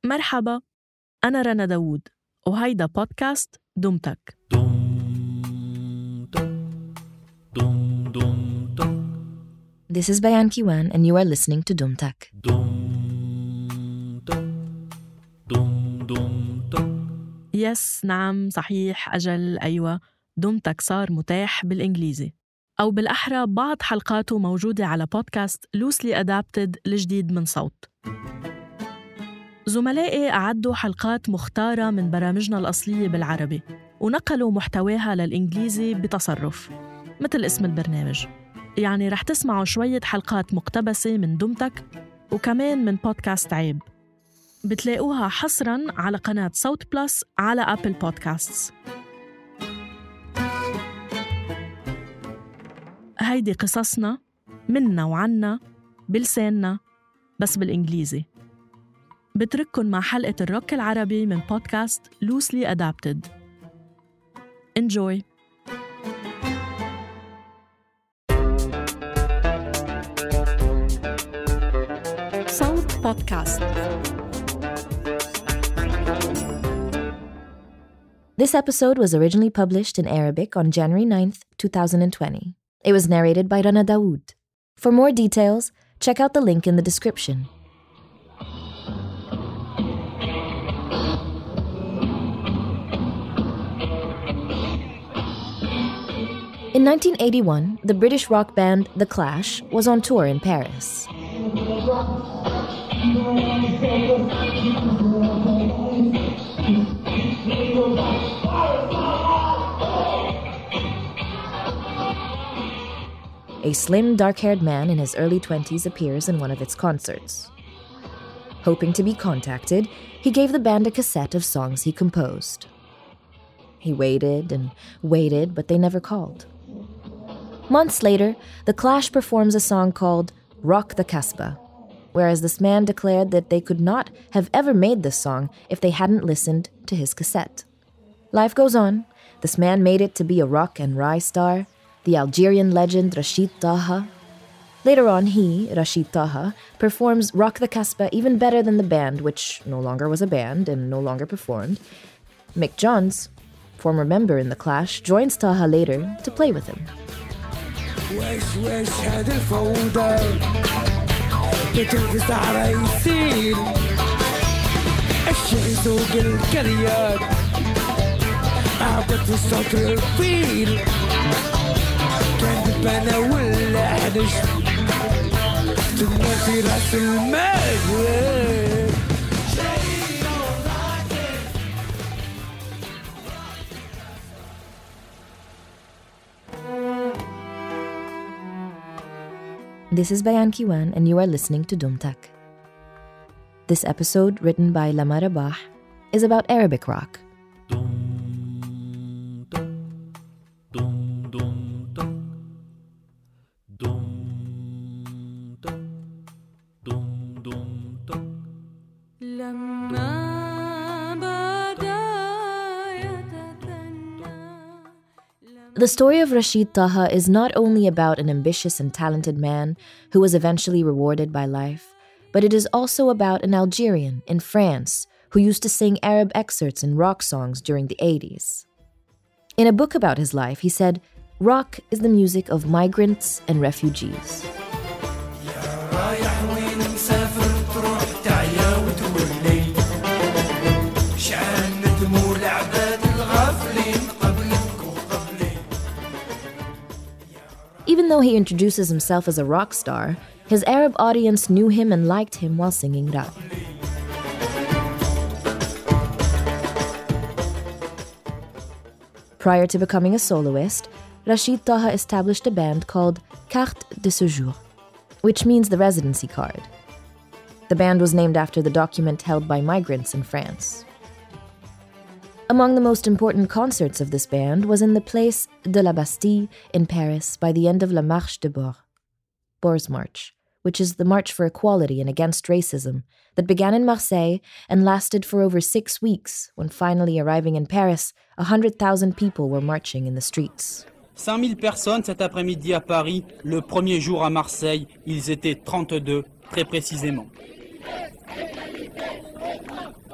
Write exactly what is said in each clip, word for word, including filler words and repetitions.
مرحبا، أنا رنا داوود وهيدا بودكاست دمتك. This is Bayan Kiwan and you are listening to Dumtak. يس نعم صحيح أجل أيوة، دمتك صار متاح بالإنجليزي، أو بالأحرى بعض حلقاته موجودة على بودكاست Loosely Adapted الجديد من صوت. زملائي أعدوا حلقات مختارة من برامجنا الأصلية بالعربي ونقلوا محتواها للإنجليزي بتصرف مثل اسم البرنامج. يعني رح تسمعوا شوية حلقات مقتبسة من دمتك وكمان من بودكاست عيب، بتلاقوها حصراً على قناة صوت بلس على أبل بودكاستس. هيدي قصصنا منا وعنا بلساننا بس بالإنجليزي. بترككن مع حلقة الروك العربي من بودكاست Loosely Adapted. Enjoy. صوت بودكاست. This episode was originally published in Arabic on January ninth, twenty twenty. It was narrated by Rana Dawood. For more details, check out the link in the description. In nineteen eighty-one, the British rock band The Clash was on tour in Paris. A slim, dark-haired man in his early twenties appears in one of its concerts. Hoping to be contacted, he gave the band a cassette of songs he composed. He waited and waited, but they never called. Months later, The Clash performs a song called Rock the Casbah, whereas this man declared that they could not have ever made this song if they hadn't listened to his cassette. Life goes on. This man made it to be a rock and rye star, the Algerian legend Rachid Taha. Later on, he, Rachid Taha, performs Rock the Casbah even better than the band, which no longer was a band and no longer performed. Mick Johns, former member in The Clash, joins Taha later to play with him. واش واش هاد الفوضى بتنفس على يصير الشيء سوق الكريات عبت في السطر الفيل كان بنا ولا حدش تنا في راس المال. This is Bayan Kiwan and you are listening to Dumtak. This episode, written by Lama Rabah, is about Arabic rock. The story of Rachid Taha is not only about an ambitious and talented man who was eventually rewarded by life, but it is also about an Algerian in France who used to sing Arab excerpts in rock songs during the eighties. In a book about his life, he said, "Rock is the music of migrants and refugees." Even though he introduces himself as a rock star, his Arab audience knew him and liked him while singing rap. Prior to becoming a soloist, Rachid Taha established a band called Carte de Séjour, which means the residency card. The band was named after the document held by migrants in France. Among the most important concerts of this band was in the Place de la Bastille in Paris by the end of La Marche de Bourg, Bour's March, which is the March for Equality and Against Racism that began in Marseille and lasted for over six weeks when finally arriving in Paris, one hundred thousand people were marching in the streets. cinq mille personnes cet après-midi à Paris, le premier jour à Marseille, ils étaient trente-deux, très précisément.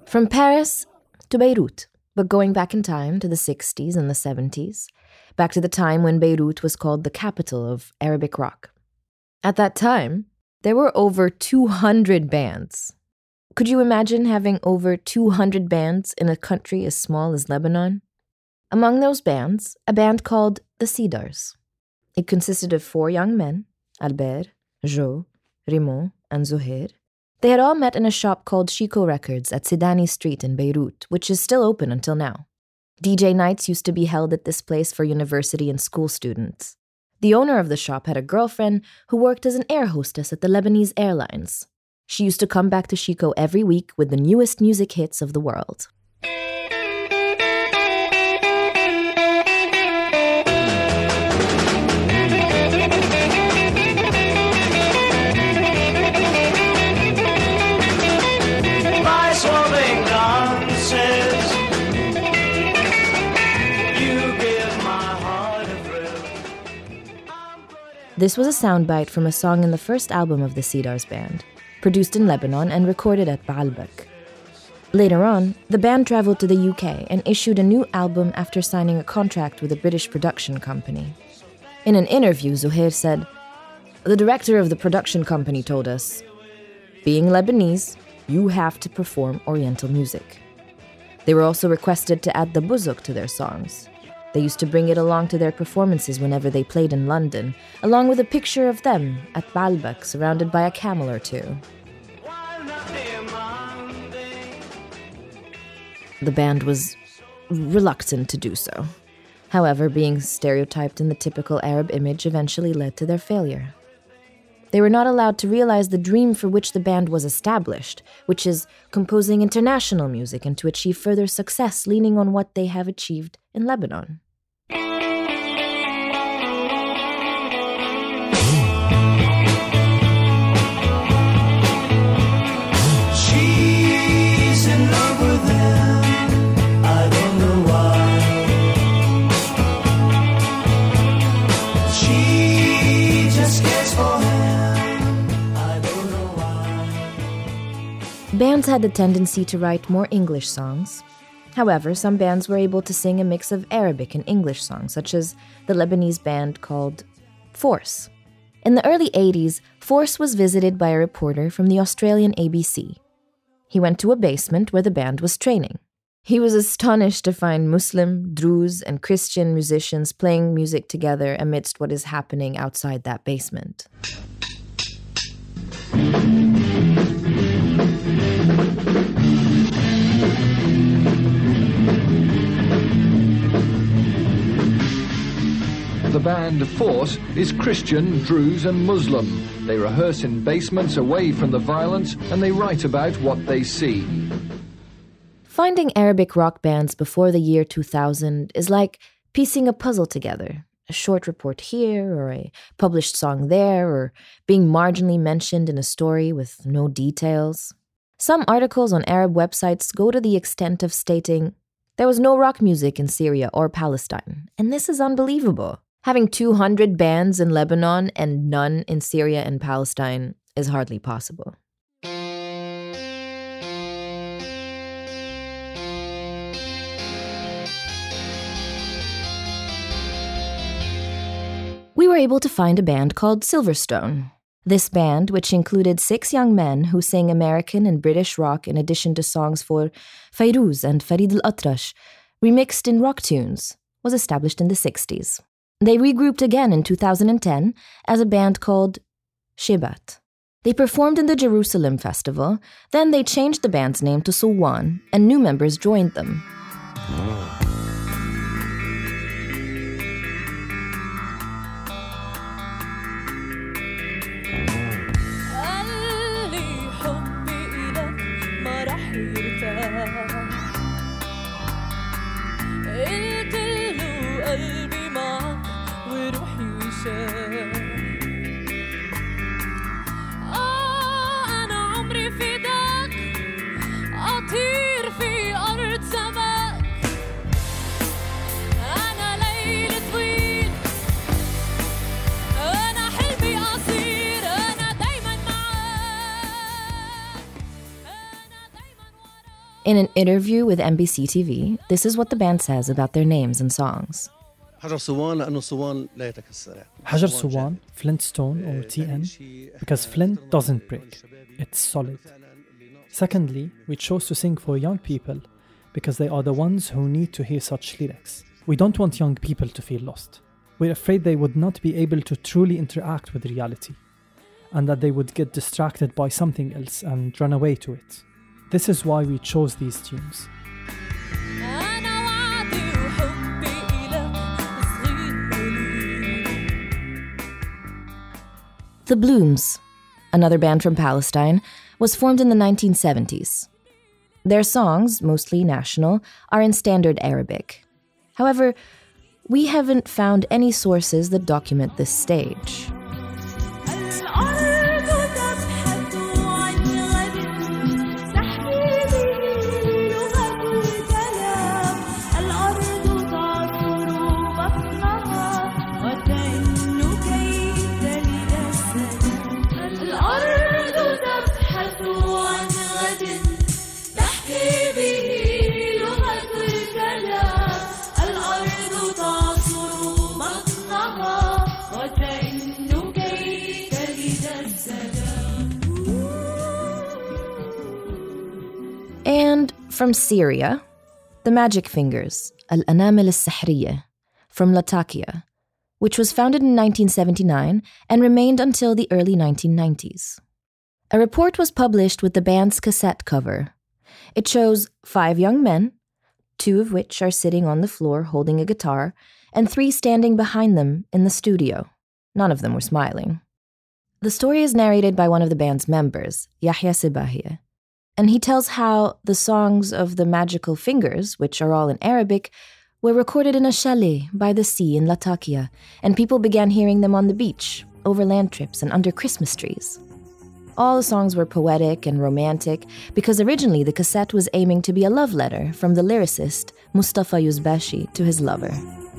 From Paris to Beirut, but going back in time to the sixties and the seventies, back to the time when Beirut was called the capital of Arabic rock. At that time, there were over two hundred bands. Could you imagine having over two hundred bands in a country as small as Lebanon? Among those bands, a band called the Cedars. It consisted of four young men, Albert, Jo, Raymond, and Zohair. They had all met in a shop called Chico Records at Sidani Street in Beirut, which is still open until now. D J nights used to be held at this place for university and school students. The owner of the shop had a girlfriend who worked as an air hostess at the Lebanese Airlines. She used to come back to Chico every week with the newest music hits of the world. This was a soundbite from a song in the first album of the Cedars Band, produced in Lebanon and recorded at Baalbek. Later on, the band traveled to the U K and issued a new album after signing a contract with a British production company. In an interview, Zohair said, "The director of the production company told us, being Lebanese, you have to perform Oriental music. They were also requested to add the bouzuk to their songs. They used to bring it along to their performances whenever they played in London, along with a picture of them at Baalbek surrounded by a camel or two." The band was reluctant to do so. However, being stereotyped in the typical Arab image eventually led to their failure. They were not allowed to realize the dream for which the band was established, which is composing international music and to achieve further success leaning on what they have achieved in Lebanon. She's in love with him, I don't know why. She just cares for him. Bands had the tendency to write more English songs. However, some bands were able to sing a mix of Arabic and English songs, such as the Lebanese band called Force. In the early eighties, Force was visited by a reporter from the Australian A B C. He went to a basement where the band was training. He was astonished to find Muslim, Druze, and Christian musicians playing music together amidst what is happening outside that basement. The band Force is Christian, Druze and Muslim. They rehearse in basements away from the violence and they write about what they see. Finding Arabic rock bands before the year two thousand is like piecing a puzzle together. A short report here, or a published song there, or being marginally mentioned in a story with no details. Some articles on Arab websites go to the extent of stating, there was no rock music in Syria or Palestine, and this is unbelievable. Having two hundred bands in Lebanon and none in Syria and Palestine is hardly possible. We were able to find a band called Silverstone. This band, which included six young men who sang American and British rock in addition to songs for Fairuz and Farid al-Atrash, remixed in rock tunes, was established in the sixties. They regrouped again in two thousand ten as a band called Shebat. They performed in the Jerusalem Festival, then they changed the band's name to Sulwan, and new members joined them. In an interview with M B C T V, this is what the band says about their names and songs. حجر صوان لأنه صوان لا يتكسر. حجر صوان, Flintstone or T N, because flint doesn't break, it's solid. Secondly, we chose to sing for young people because they are the ones who need to hear such lyrics. We don't want young people to feel lost. We're afraid they would not be able to truly interact with reality, and that they would get distracted by something else and run away to it. This is why we chose these tunes. The Blooms, another band from Palestine, was formed in the nineteen seventies. Their songs, mostly national, are in standard Arabic. However, we haven't found any sources that document this stage. And from Syria, the Magic Fingers, Al-Anamil Al-Sahriyah, from Latakia, which was founded in nineteen seventy-nine and remained until the early nineteen nineties. A report was published with the band's cassette cover. It shows five young men, two of which are sitting on the floor holding a guitar, and three standing behind them in the studio. None of them were smiling. The story is narrated by one of the band's members, Yahya Sibahia, and he tells how the songs of the Magical Fingers, which are all in Arabic, were recorded in a chalet by the sea in Latakia, and people began hearing them on the beach, over land trips, and under Christmas trees. All the songs were poetic and romantic because originally the cassette was aiming to be a love letter from the lyricist Mustafa Yuzbashi to his lover.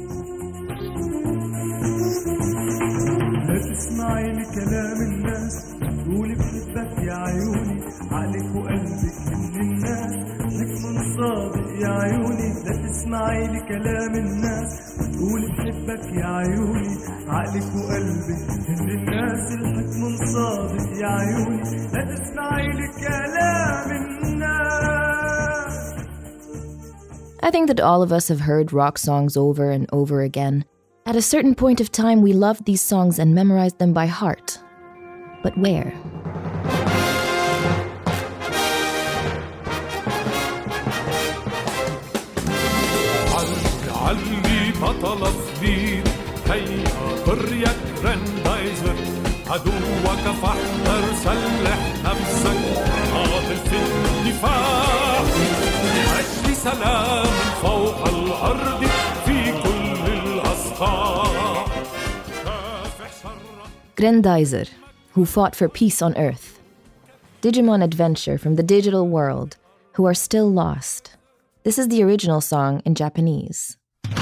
I think that all of us have heard rock songs over and over again. At a certain point of time, we loved these songs and memorized them by heart. But where? عدوك فاحذر سلح نفسك قاتل في الدفاع أجل سلام فوق الأرض في كل الأصقاع. Grendizer, who fought for peace on Earth. Digimon Adventure from the digital world, who are still lost. This is the original song in Japanese.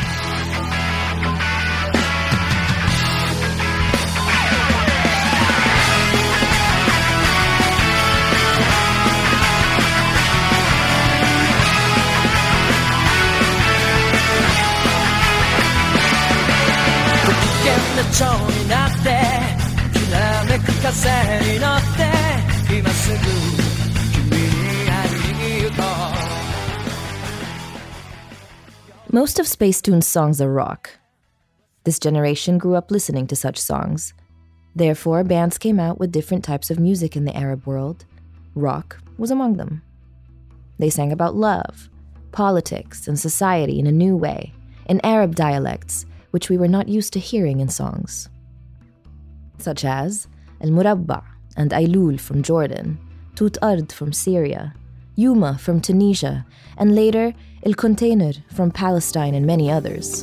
Most of Spacetune's songs are rock. This generation grew up listening to such songs. Therefore, bands came out with different types of music in the Arab world. Rock was among them. They sang about love, politics, and society in a new way, in Arab dialects, which we were not used to hearing in songs. Such as Al-Murabba and Aylul from Jordan, Tut Ard from Syria, Yuma from Tunisia, and later El Container from Palestine and many others.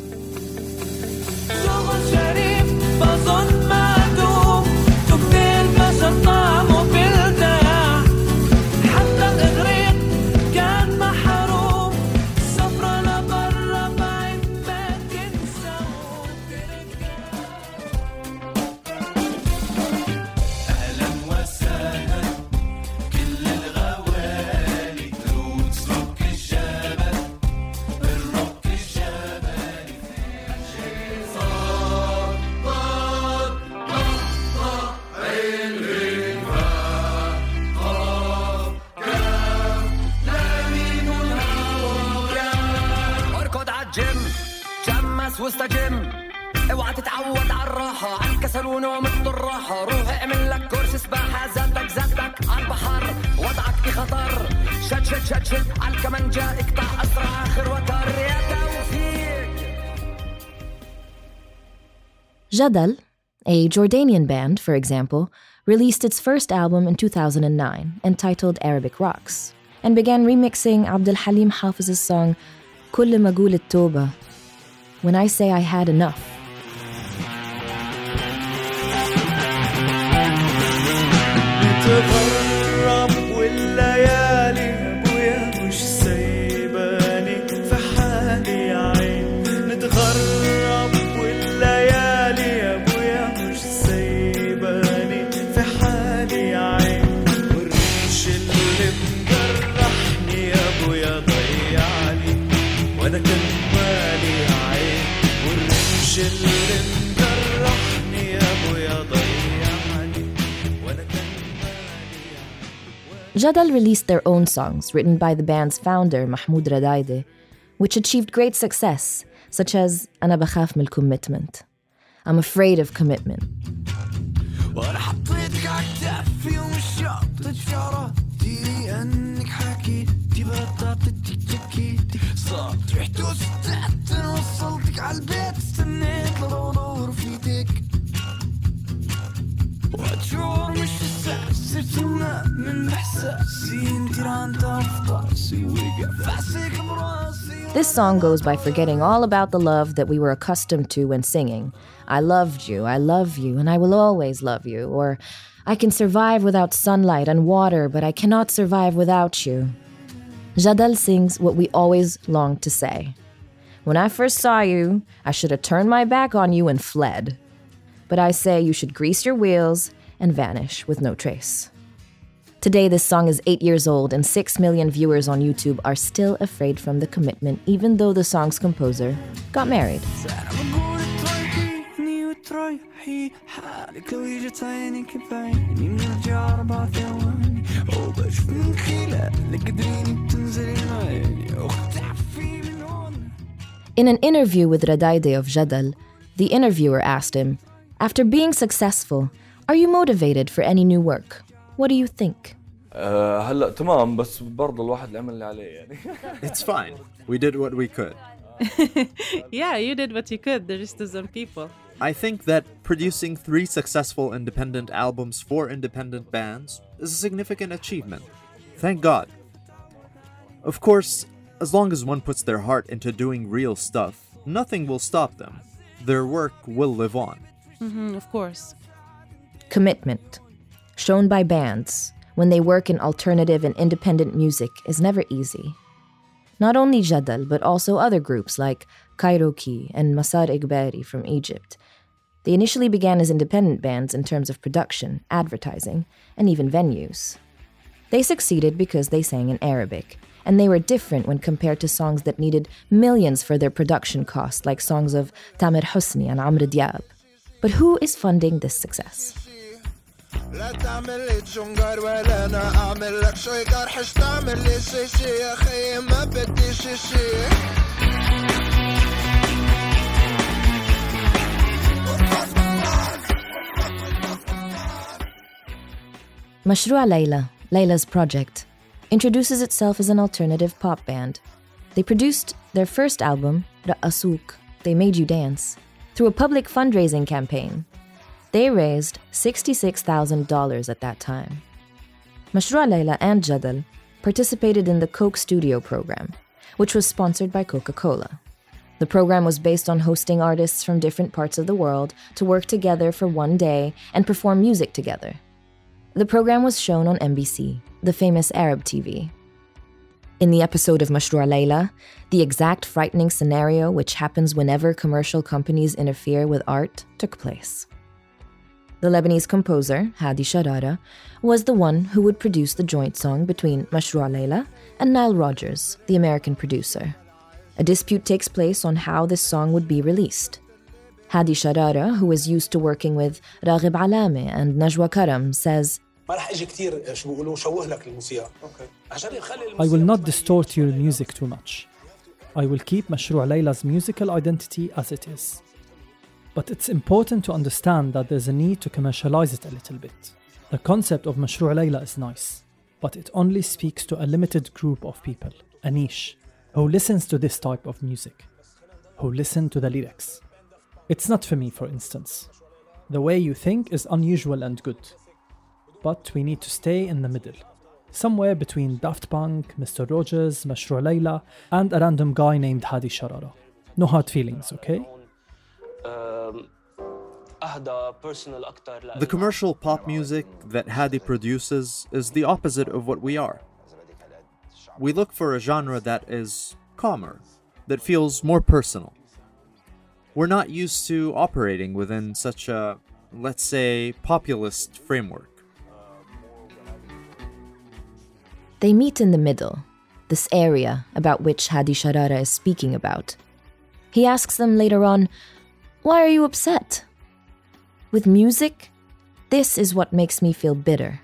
واستجم اوعى تتعود على الراحة على الكسل ونوم الراحة روح اعمل لك كورس سباحة زادك زادك على البحر وضعك بخطر شد شد شد شد على الكمانجة اقطع أسرع آخر وتر يا توفيق. Jadal, a Jordanian band, for example, released its first album in two thousand nine entitled Arabic Rocks and began remixing Abdul Halim Hafiz's song كل ما أقول التوبة, When I Say I Had Enough. نتغرب والليالي ابويا مش سايباني في حالي يا عين نتغرب والليالي ابويا مش سايباني في حالي يا عين والريش اللي مجرحني يا ابويا ضيعني وانا كان مالي يا عين والريش اللي مجرحني يا ابويا ضيعني وانا كان Jadal released their own songs written by the band's founder, Mahmoud Radaide, which achieved great success, such as أنا بخاف من commitment. I'm afraid of commitment. وانا حطيتك عالكتافي ومشيت شعرتي انك حكيتي بطاطتي جكيتي صارت رحت وستعت وصلتك عالبيت استنيت لدور فيتك واتشعر مش الساس صرتنا من احساسي انتي رانت افضاسي وقف عسيك براسي. This song goes by forgetting all about the love that we were accustomed to when singing. I loved you, I love you, and I will always love you. Or, I can survive without sunlight and water, but I cannot survive without you. Jadal sings what we always longed to say. When I first saw you, I should have turned my back on you and fled. But I say you should grease your wheels and vanish with no trace. Today, this song is eight years old, and six million viewers on YouTube are still afraid from the commitment, even though the song's composer got married. In an interview with Radaide of Jadal, the interviewer asked him, after being successful, are you motivated for any new work? What do you think? هلا تمام بس برضه الواحد اللي عمل اللي عليه يعني. It's fine. We did what we could. Yeah, you did what you could. There is to some people. I think that producing three successful independent albums for independent bands is a significant achievement. Thank God. Of course, as long as one puts their heart into doing real stuff, nothing will stop them. Their work will live on. Mm-hmm, of course. Commitment, shown by bands when they work in alternative and independent music, is never easy. Not only Jadal, but also other groups like Kairoki and Masar Igbari from Egypt. They initially began as independent bands in terms of production, advertising, and even venues. They succeeded because they sang in Arabic, and they were different when compared to songs that needed millions for their production costs, like songs of Tamer Hosni and Amr Diab. But who is funding this success? لا تعمل لي تشنجر ولا انا اعمل لك شي قرحش تعمل لي شي شي يا اخي ما بدي شي شي. Mashrua Layla, Layla's project, introduces itself as an alternative pop band. They produced their first album, Ra'asuk, They Made You Dance, through a public fundraising campaign. They raised sixty-six thousand dollars at that time. Mashrua Layla and Jadal participated in the Coke Studio program, which was sponsored by Coca-Cola. The program was based on hosting artists from different parts of the world to work together for one day and perform music together. The program was shown on M B C, the famous Arab T V. In the episode of Mashrua Layla, the exact frightening scenario which happens whenever commercial companies interfere with art took place. The Lebanese composer, Hadi Sharara, was the one who would produce the joint song between Mashrua Layla and Nile Rodgers, the American producer. A dispute takes place on how this song would be released. Hadi Sharara, who is used to working with Raghib Alame and Najwa Karam, says, I will not distort your music too much. I will keep Mashrou' Layla's musical identity as it is. But it's important to understand that there's a need to commercialize it a little bit. The concept of Mashrou' Layla is nice, but it only speaks to a limited group of people, a niche, who listens to this type of music, who listen to the lyrics. It's not for me, for instance. The way you think is unusual and good, but we need to stay in the middle, somewhere between Daft Punk, Mister Rogers, Mashrou' Layla, and a random guy named Hadi Sharara. No hard feelings, okay? The commercial pop music that Hadi produces is the opposite of what we are. We look for a genre that is calmer, that feels more personal. We're not used to operating within such a, let's say, populist framework. They meet in the middle, this area about which Hadi Sharara is speaking about. He asks them later on, "Why are you upset? With music, this is what makes me feel bitter."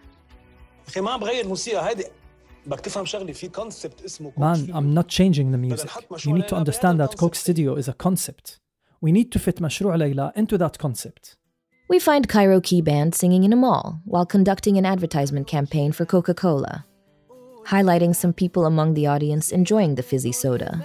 Man, I'm not changing the music. You need to understand that Coke Studio is a concept. We need to fit Mashrou' Layla into that concept. We find Cairo Key Band singing in a mall while conducting an advertisement campaign for Coca-Cola, highlighting some people among the audience enjoying the fizzy soda.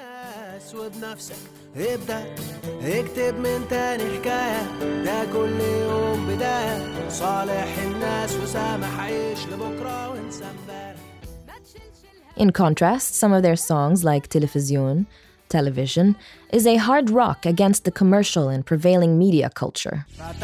In contrast, some of their songs like Television, Television, is a hard rock against the commercial and prevailing media culture.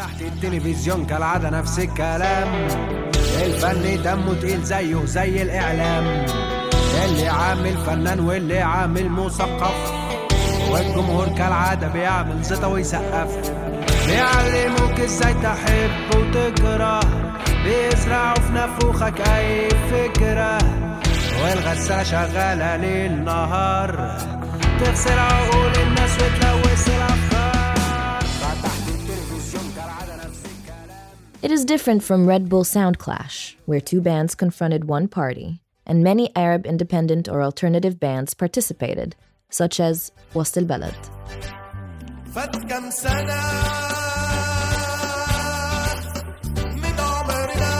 والجمهور كالعادة بيعمل زيطة ويسقف بيعلموك ازاي تحب وتكره بيزرعوا في نافوخك اي فكرة والغسالة شغالة ليل نهار تغسل عقول الناس وتلوث الافكار فتحت التلفزيون كالعادة نفس الكلام. It is different from Red Bull Sound Clash, where two bands confronted one party, and many Arab independent or alternative bands participated, such as وسط البلد. فات كم سنة من عمرنا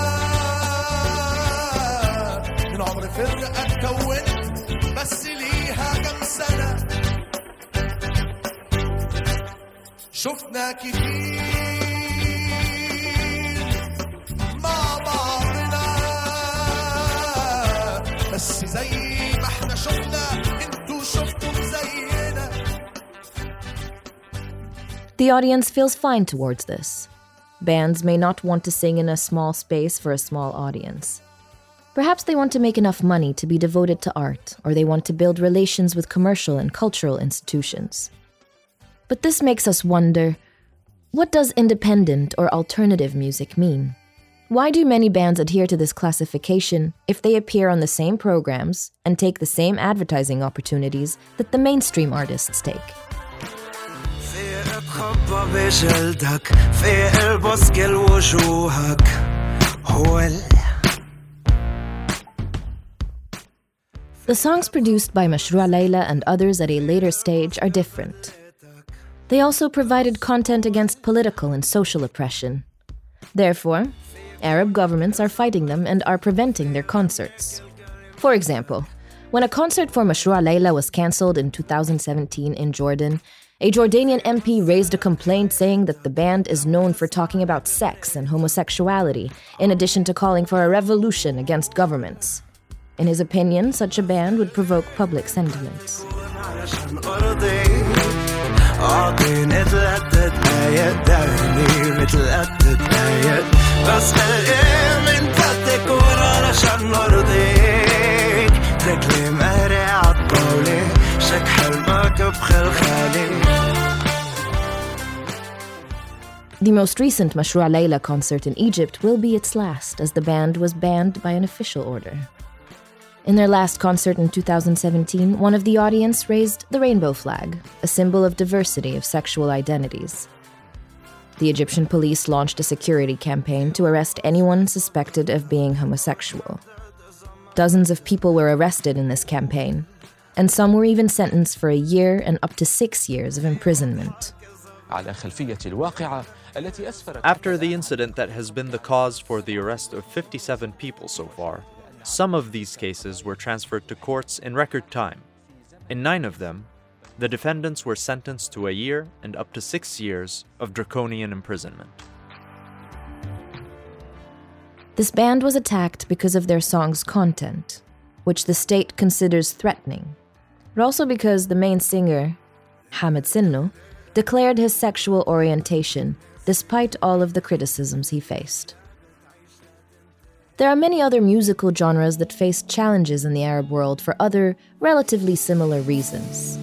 من عمر فرقة اتكونت بس ليها كم سنة شفنا كتير مع بعضنا بس زي ما احنا شفنا The audience feels fine towards this. Bands may not want to sing in a small space for a small audience. Perhaps they want to make enough money to be devoted to art, or they want to build relations with commercial and cultural institutions. But this makes us wonder, what does independent or alternative music mean? Why do many bands adhere to this classification if they appear on the same programs and take the same advertising opportunities that the mainstream artists take? The songs produced by Mashrou' Layla and others at a later stage are different. They also provided content against political and social oppression. Therefore, Arab governments are fighting them and are preventing their concerts. For example, when a concert for Mashrou' Layla was cancelled in two thousand seventeen in Jordan, a Jordanian M P raised a complaint saying that the band is known for talking about sex and homosexuality, in addition to calling for a revolution against governments. In his opinion, such a ban would provoke public sentiments. The most recent Mashrou' Layla concert in Egypt will be its last, as the band was banned by an official order. In their last concert in two thousand seventeen, one of the audience raised the rainbow flag, a symbol of diversity of sexual identities. The Egyptian police launched a security campaign to arrest anyone suspected of being homosexual. Dozens of people were arrested in this campaign. and some were even sentenced for a year and up to six years of imprisonment. After the incident that has been the cause for the arrest of fifty-seven people so far, some of these cases were transferred to courts in record time. In nine of them, the defendants were sentenced to a year and up to six years of draconian imprisonment. This band was attacked because of their song's content, which the state considers threatening, but also because the main singer, Hamid Sinno, declared his sexual orientation despite all of the criticisms he faced. There are many other musical genres that faced challenges in the Arab world for other, relatively similar reasons.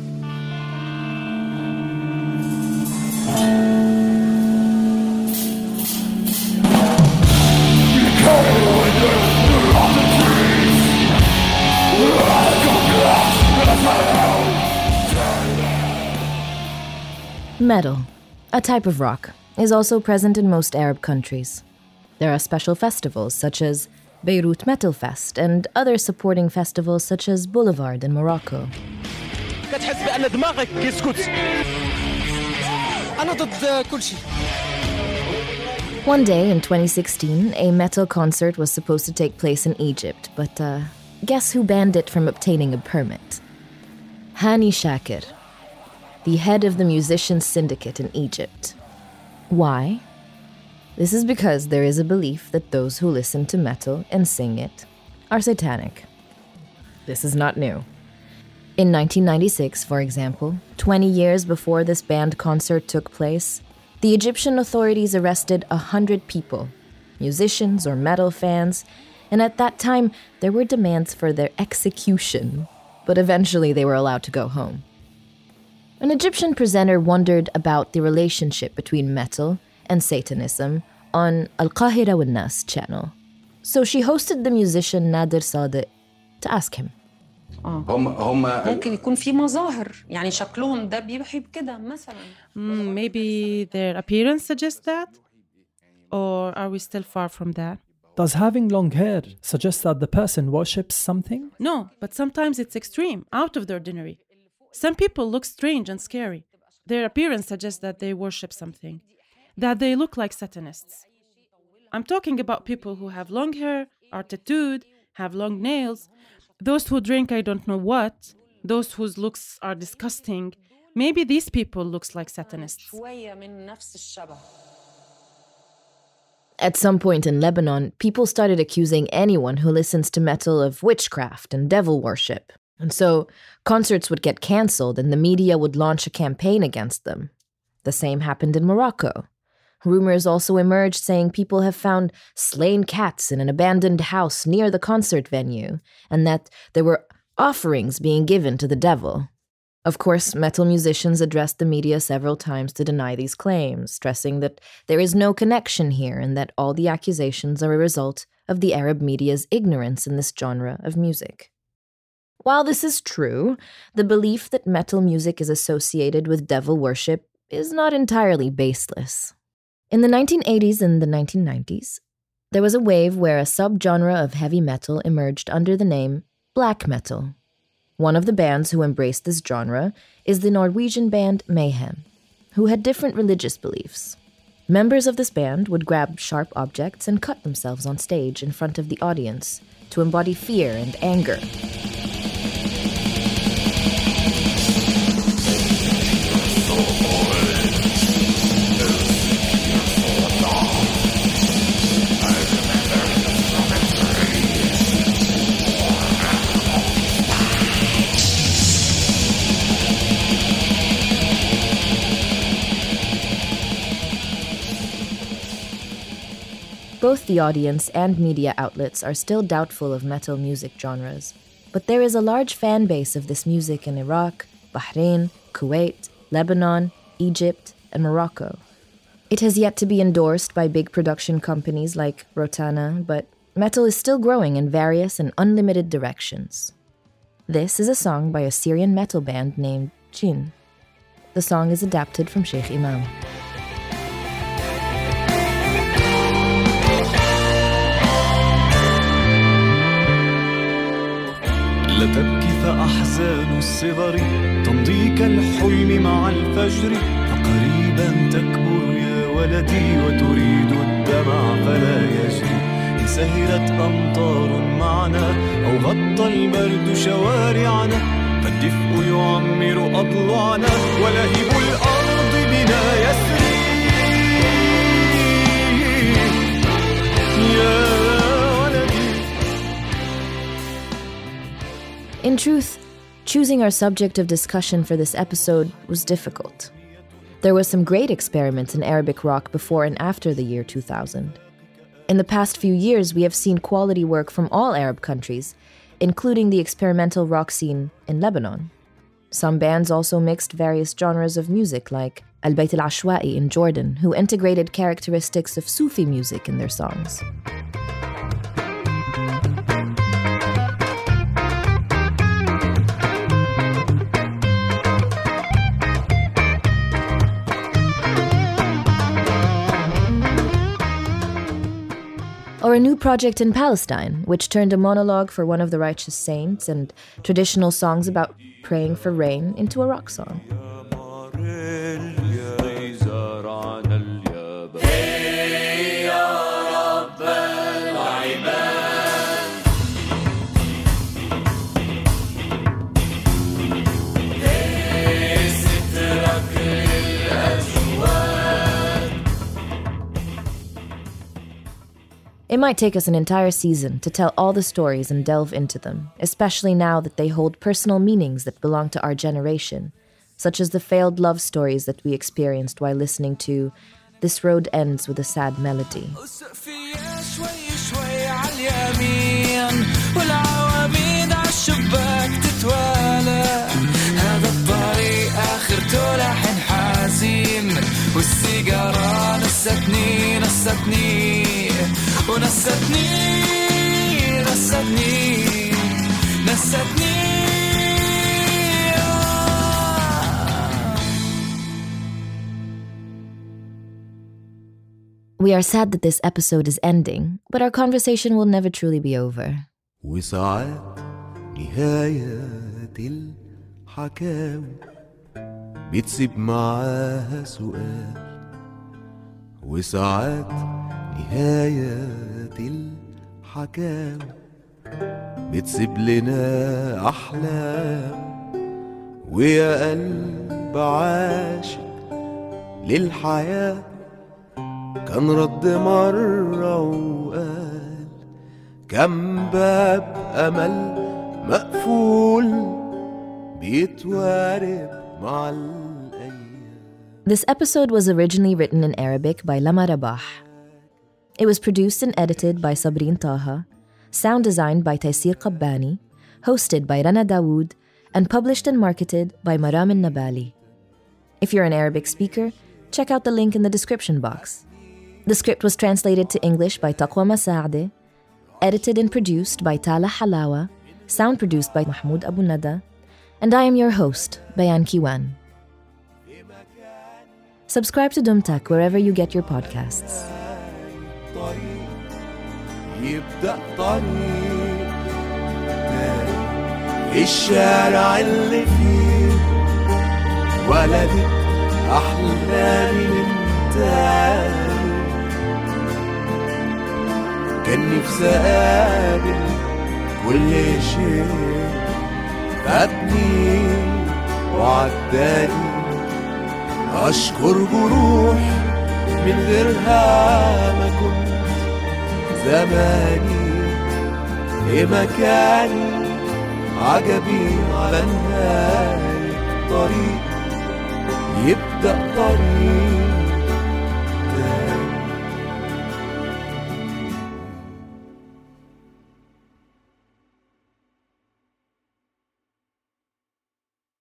Metal, a type of rock, is also present in most Arab countries. There are special festivals such as Beirut Metal Fest and other supporting festivals such as Boulevard in Morocco. One day in twenty sixteen, a metal concert was supposed to take place in Egypt, but uh, guess who banned it from obtaining a permit? Hani Shakir, the head of the musicians' syndicate in Egypt. Why? This is because there is a belief that those who listen to metal and sing it are satanic. This is not new. In nineteen ninety-six, for example, twenty years before this banned concert took place, the Egyptian authorities arrested a hundred people, musicians or metal fans, and at that time there were demands for their execution, but eventually they were allowed to go home. An Egyptian presenter wondered about the relationship between metal and Satanism on Al-Qahira wal Nas channel. So she hosted the musician Nader Sadiq to ask him. ممكن يكون في مظاهر يعني شكلهم ده بيوحي بكده مثلا. Maybe their appearance suggests that? Or are we still far from that? Does having long hair suggest that the person worships something? No, but sometimes it's extreme, out of the ordinary. Some people look strange and scary. Their appearance suggests that they worship something, that they look like Satanists. I'm talking about people who have long hair, are tattooed, have long nails, those who drink I don't know what, those whose looks are disgusting. Maybe these people look like Satanists. At some point in Lebanon, people started accusing anyone who listens to metal of witchcraft and devil worship. And so concerts would get cancelled and the media would launch a campaign against them. The same happened in Morocco. Rumors also emerged saying people have found slain cats in an abandoned house near the concert venue, and that there were offerings being given to the devil. Of course, metal musicians addressed the media several times to deny these claims, stressing that there is no connection here and that all the accusations are a result of the Arab media's ignorance in this genre of music. While this is true, the belief that metal music is associated with devil worship is not entirely baseless. In the nineteen eighties and the nineteen nineties, there was a wave where a subgenre of heavy metal emerged under the name black metal. One of the bands who embraced this genre is the Norwegian band Mayhem, who had different religious beliefs. Members of this band would grab sharp objects and cut themselves on stage in front of the audience to embody fear and anger. Both the audience and media outlets are still doubtful of metal music genres, but there is a large fan base of this music in Iraq, Bahrain, Kuwait, Lebanon, Egypt, and Morocco. It has yet to be endorsed by big production companies like Rotana, but metal is still growing in various and unlimited directions. This is a song by a Syrian metal band named Jinn. The song is adapted from Sheikh Imam. لا تبكي كيف أحزان الصغر تمضي كالحلم مع الفجر، فقريبا تكبر يا ولدي وتريد الدمع فلا يجري. إن سهرت أمطار معنا أو غطى البرد شوارعنا، فالدفء يعمر أضلاعنا ولهب الأرض بنا يسري. In truth, choosing our subject of discussion for this episode was difficult. There were some great experiments in Arabic rock before and after the year two thousand. In the past few years, we have seen quality work from all Arab countries, including the experimental rock scene in Lebanon. Some bands also mixed various genres of music, like Al Bayt Al Ashwa'i in Jordan, who integrated characteristics of Sufi music in their songs. Or a new project in Palestine, which turned a monologue for one of the righteous saints and traditional songs about praying for rain into a rock song. It might take us an entire season to tell all the stories and delve into them, especially now that they hold personal meanings that belong to our generation, such as the failed love stories that we experienced while listening to This Road Ends with a Sad Melody. والسيجارة نستني نستني ونستني نستني نستني. We are sad that this episode is ending, but our conversation will never truly be over. وساعات نهاية الحكاوي بتسيب معاها سؤال، وساعات نهاية الحكاوي بتسيب لنا أحلام. ويا قلب عاشق للحياة كان رد مرة وقال كم باب أمل مقفول بيتوارب. This episode was originally written in Arabic by Lama Rabah. It was produced and edited by Sabreen Taha, sound designed by Taysir Qabbani, hosted by Rana Dawood, and published and marketed by Maram al-Nabali. If you're an Arabic speaker, check out the link in the description box. The script was translated to English by Taqwa Masaade, edited and produced by Tala Halawa, sound produced by Mahmoud Abu Nada, and I am your host, Bayan Kiwan. Subscribe to Dumtak wherever you get your podcasts. يبدأ طريق الشارع اللي فيه ولدت أحلامي من تاني. كان نفسي أقابل كل شيء فاتني وعداني. أشكر جروح من غيرها ما كنت زماني في مكاني. عجبي على نهاية طريق يبدأ طريق